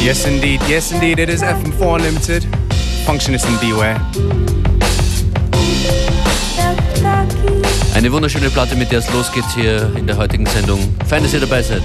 Yes indeed, it is FM4 Unlimited. Functionist and Beware. Eine wunderschöne Platte, mit der es losgeht hier in der heutigen Sendung. Fein, dass ihr dabei seid.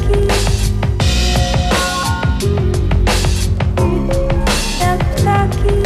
Taki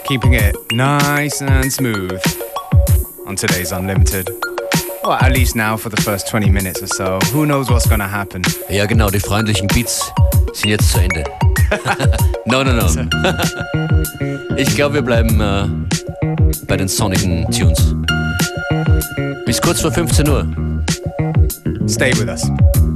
Keeping it nice and smooth on today's Unlimited. Well, at least now for the first 20 minutes or so. Who knows what's gonna happen? Ja genau, die freundlichen Beats sind jetzt zu Ende. No. Ich glaube, wir bleiben bei den sonnigen Tunes. Bis kurz vor 15 Uhr. Stay with us.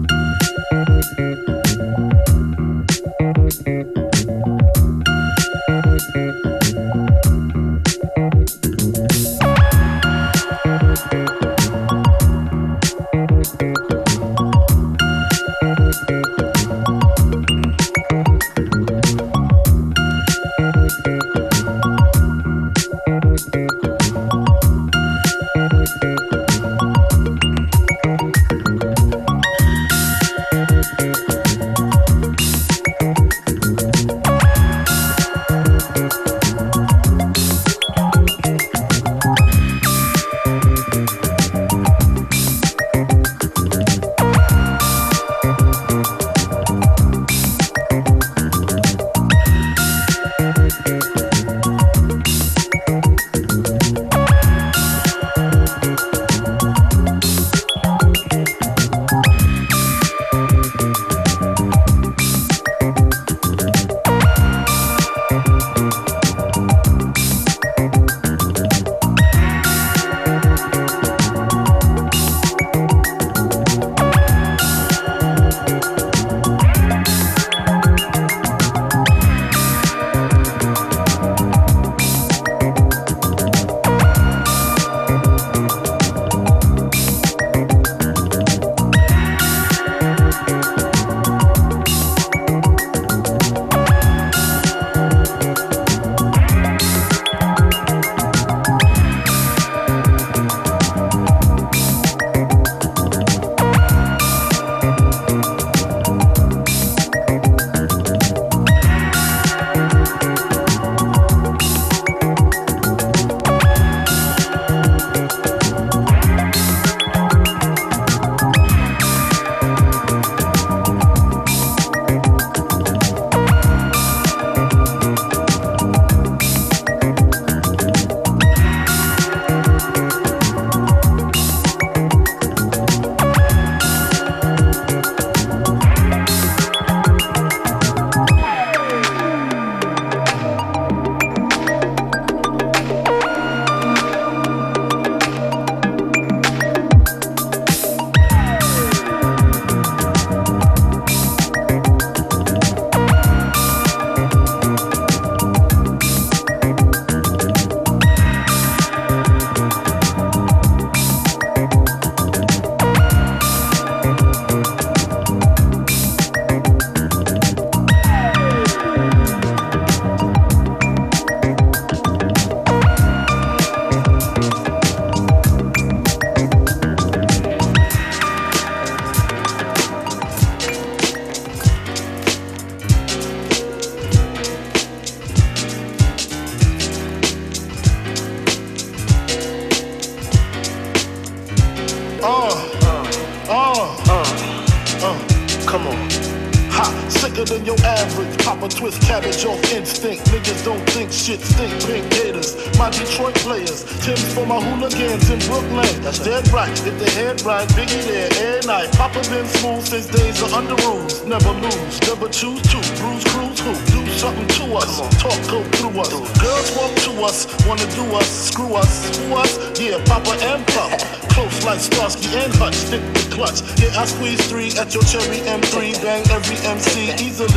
Come on. Ha, sicker than your average. Pop a twist cabbage off instinct. Niggas don't think shit stink. Pink haters, my Detroit players. Tim's for my hooligans in Brooklyn. That's dead right. If the head right, Biggie there every night. Papa been smooth since days are under rules. Never lose, never choose to. Bruise, cruise, who? Do something to us. Talk, go through us. Girls walk to us, wanna do us, screw us, who us? Yeah, Papa and Pop. Close like Starsky and Hutch, stick the clutch. Yeah, I squeeze 3 at your cherry M3. Bang every MC easily.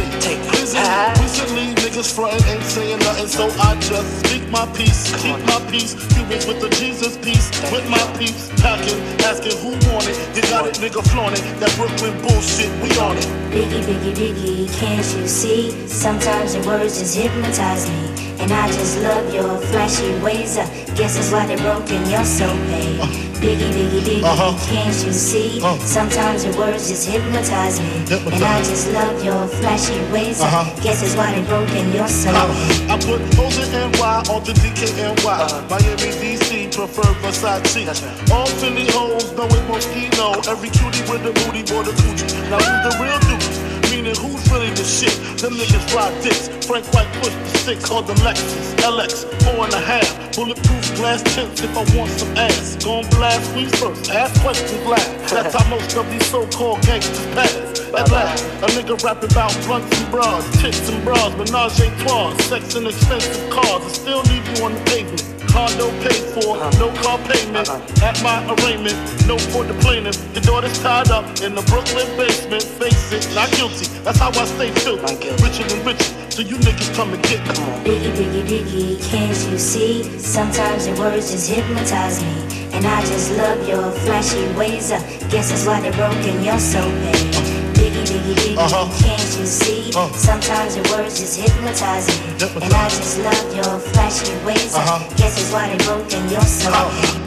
Recently, niggas frontin' ain't saying nothing, so I just speak my peace, keep my peace. Cubans with the Jesus peace, with my peace. Packing, asking who want it. You got it, nigga flaunt it. That Brooklyn bullshit, we on it. Biggie, Biggie, Biggie, can't you see? Sometimes your words just hypnotize me. And I just love your flashy ways. I guess that's why they're broken, you're so paid. Biggie, Biggie, Biggie, can't you see? Sometimes your words just hypnotize me. And I just love your flashy ways. I guess that's why they're broken, you're so paid. I put O's and NY on to DKNY. Miami, DC, prefer Versace. All Philly hoes know it Moschino. Every cutie with a booty, boy, the coochie. Now who's the real dude? Me meaning who's really the shit? Them niggas ride dicks. Frank White pushed the stick called the Lexus LX 4.5. Bulletproof glass tips if I want some ass. Gon' blast we first, ask questions last. That's how most of these so-called gangsters pass. At last, a nigga rapping about blunts and bras, tits and bras, menage a trois, sex and expensive cars. I still leave you on the pavement. Condo paid for, no car payment. At my arraignment, no for the plaintiff. Your daughter's tied up in the Brooklyn basement. Face it, not guilty. That's how I stay too. Richer than richer, so you niggas come and get me. Biggie, biggie, biggie, can't you see? Sometimes your words just hypnotize me. And I just love your flashy ways. Guess that's why they're broken, you're so big. Biggie, biggie, biggie, can't you see? Sometimes your words just hypnotize me. And I just love your flashy ways. Guess that's why they're broken, you're so big.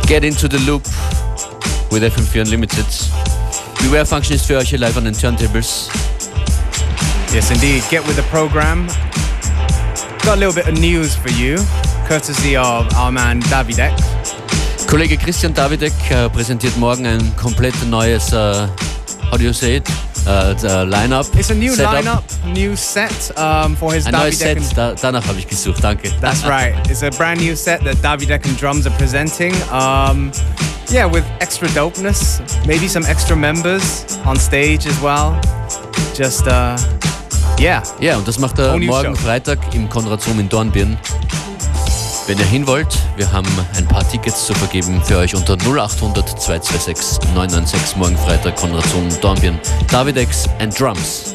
Get into the loop with FM4 Unlimited. Beware Function ist für euch hier live an den Turntables. Yes, indeed. Get with the program. Got a little bit of news for you, courtesy of our man Davidek. Kollege Christian Davidek präsentiert morgen ein komplett neues, how do you say it? Line-up. It's a new setup. Line-up, new set for his Ein neues Set, Davidek. danach habe ich gesucht, danke. That's right. It's a brand new set that Davidek and Drums are presenting. Yeah, with extra dopeness, maybe some extra members on stage as well. Just, yeah. Ja, und das macht er morgen Freitag im Konrad-Zoom in Dornbirn. Wenn ihr hin wollt, wir haben ein paar Tickets zu vergeben für euch unter 0800 226 996 morgen Freitag Konrad-Zoom Dornbirn. Davidex and Drums.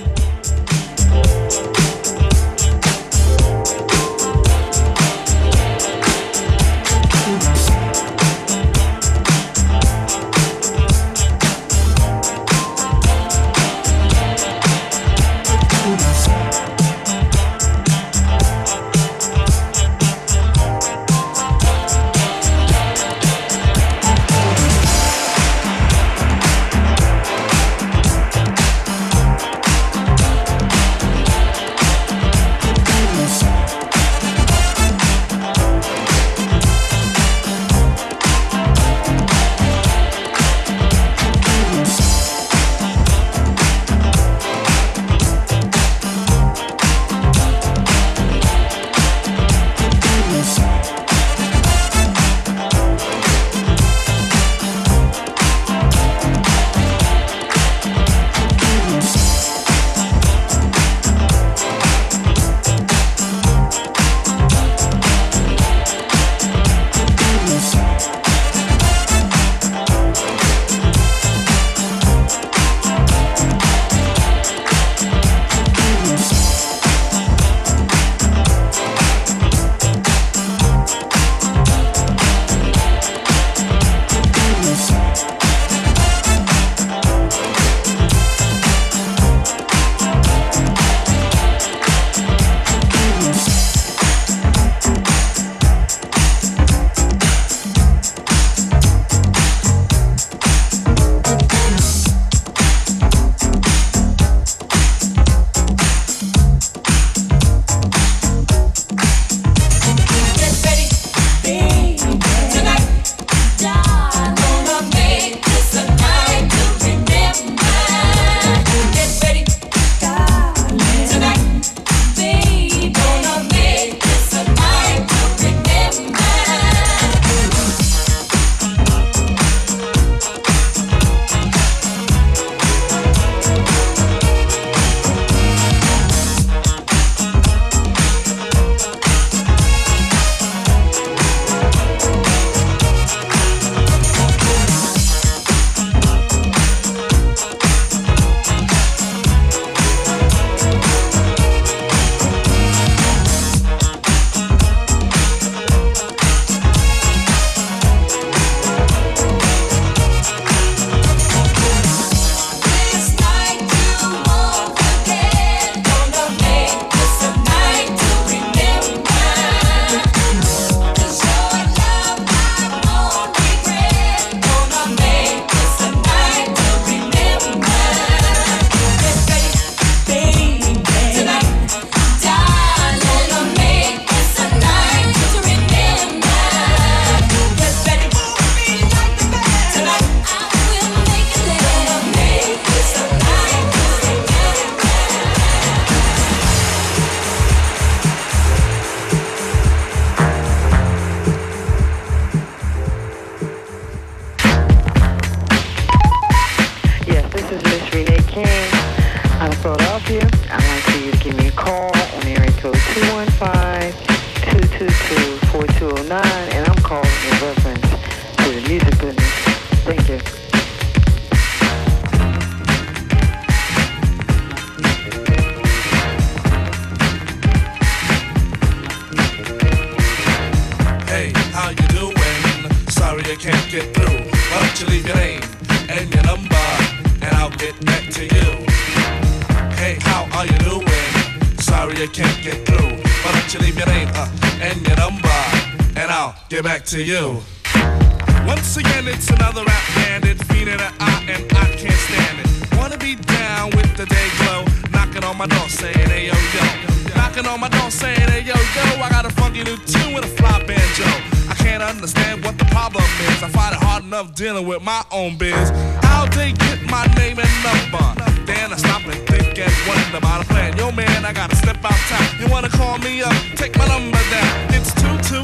To you. Once again, it's another rap bandit, feeding an eye and I can't stand it. Wanna be down with the day glow, knocking on my door saying, hey yo yo. Knocking on my door saying, hey yo yo, I got a funky new tune with a fly banjo. I can't understand what the problem is. I find it hard enough dealing with my own biz. How they get my name and number? Then I stop and think and wonder about a plan. Yo man, I gotta step out town. You wanna call me up? Take my number down. It's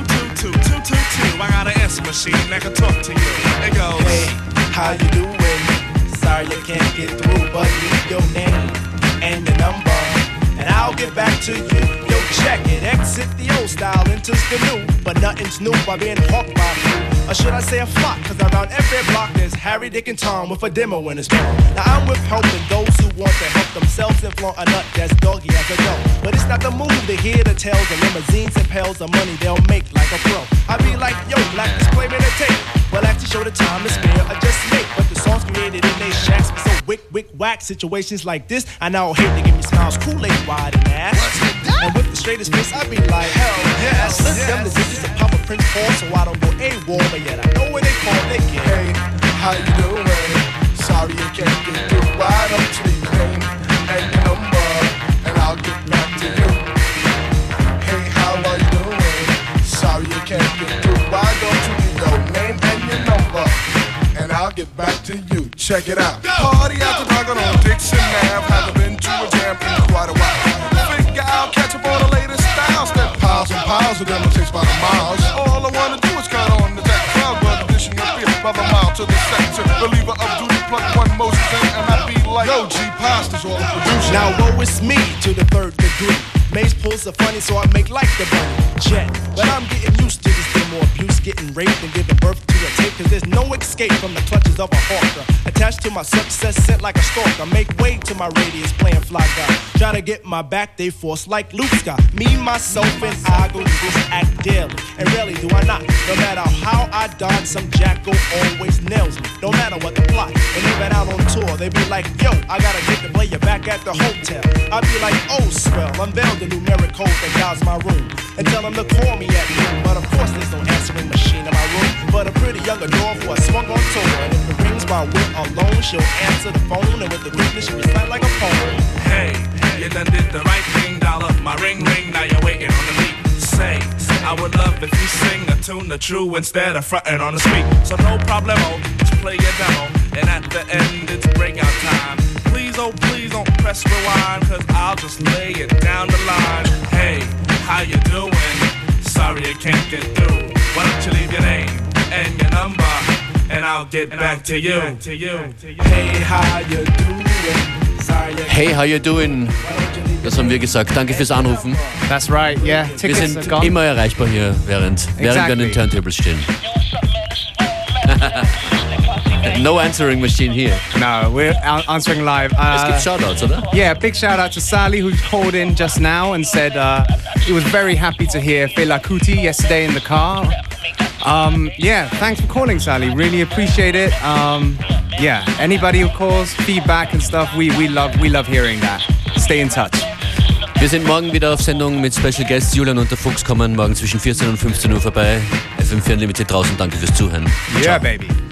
2222222. I got an answer machine that can talk to you. It goes, hey, how you doing? Sorry you can't get through, but leave your name and your number, and I'll get back to you. Yo, check it, exit the old style, enters the new, but nothing's new by being hawked by a few. Or should I say a flock, cause around every block there's Harry, Dick, and Tom with a demo in his mouth. Now I'm with helping those who want to help themselves and flaunt a nut that's doggy as a dough. But it's not the move to hear the tales of limousines and pails of money they'll make like a pro. I be like, yo, black display me the tape. Well, actually show the time to spare or just make. But the songs created in they shacks be so wick, whack. Situations like this, I now hate to give me smiles, Kool-Aid wide and ass. And with the straightest face, I be like, hell yeah. I slip them the digits of Papa Prince Paul, so I don't go AWOL, but yet I know when they call, they get. hey, how you doing? Sorry you can't get through. Why don't you leave your name and your number, and I'll get back to you. Hey, how are you doing? Sorry you can't get through. Why don't you leave your name and your number, and I'll get back to you. Check it out. Party after dark on Dixon Ave. Haven't been to a jam in quite a while. Figure I'll catch up on the latest styles. That piles and piles of them will takes by the miles. All I wanna do is count on the deck crowd, but addition of beer by the mile to the sector. Reliever of duty, plug one Moses in, and I be like, yo, G Pasta's all the producer. Now woe is me to the third degree. Maze pulls are funny, so I make like the bunny jet. But I'm getting used to this demo abuse, getting raped and giving birth to a tape. Cause there's no escape from the clutches of a hawker. Attached to my success, sent like a stalker. Make way to my radius, playing fly guy. Try to get my back, they force like Luke Scott. Me, myself, and I go through this act daily. And rarely do I not. No matter how I dodge, some jacko always nails me. No matter what the plot. And even out on tour, they be like, yo, I gotta get to play you back at the hotel. I be like, oh, swell, unveil the numeric code that guides my room. And tell them to call me at noon. But of course there's no answering machine in my room. But a pretty young adore who I swung on tour. And if it rings my wit alone, she'll answer the phone. And with the quickness she'll recite like a poem. Hey, you done did the right thing, dollar. My ring, now you're waiting on the beat. Say, I would love if you sing a tune the true instead of frontin' on the street. So no problemo, just play your demo. And at the end it's breakout time. Please, oh please don't press rewind, cause I'll just lay it down the line. Hey, how you doing? Sorry I can't get through. Why don't you leave your name and your number, and I'll get back to you. Hey, how you doing? Sorry, Hey, how you doing? Das haben wir gesagt. Danke fürs Anrufen. That's right, yeah. Wir Tickets sind are gone. immer erreichbar hier, während wir an den Turntables stehen. No answering machine here. No, we're answering live. Es gibt Shoutouts, oder? Yeah, big shout out to Sally who called in just now and said he was very happy to hear Fela Kuti yesterday in the car. Yeah, thanks for calling, Sally. Really appreciate it. Yeah, anybody who calls, feedback and stuff, we love hearing that. Stay in touch. Wir sind morgen wieder auf Sendung mit Special Guests. Julian und der Fuchs kommen morgen zwischen 14 und 15 Uhr vorbei. FM4 Unlimited draußen. Danke fürs Zuhören. Yeah, baby.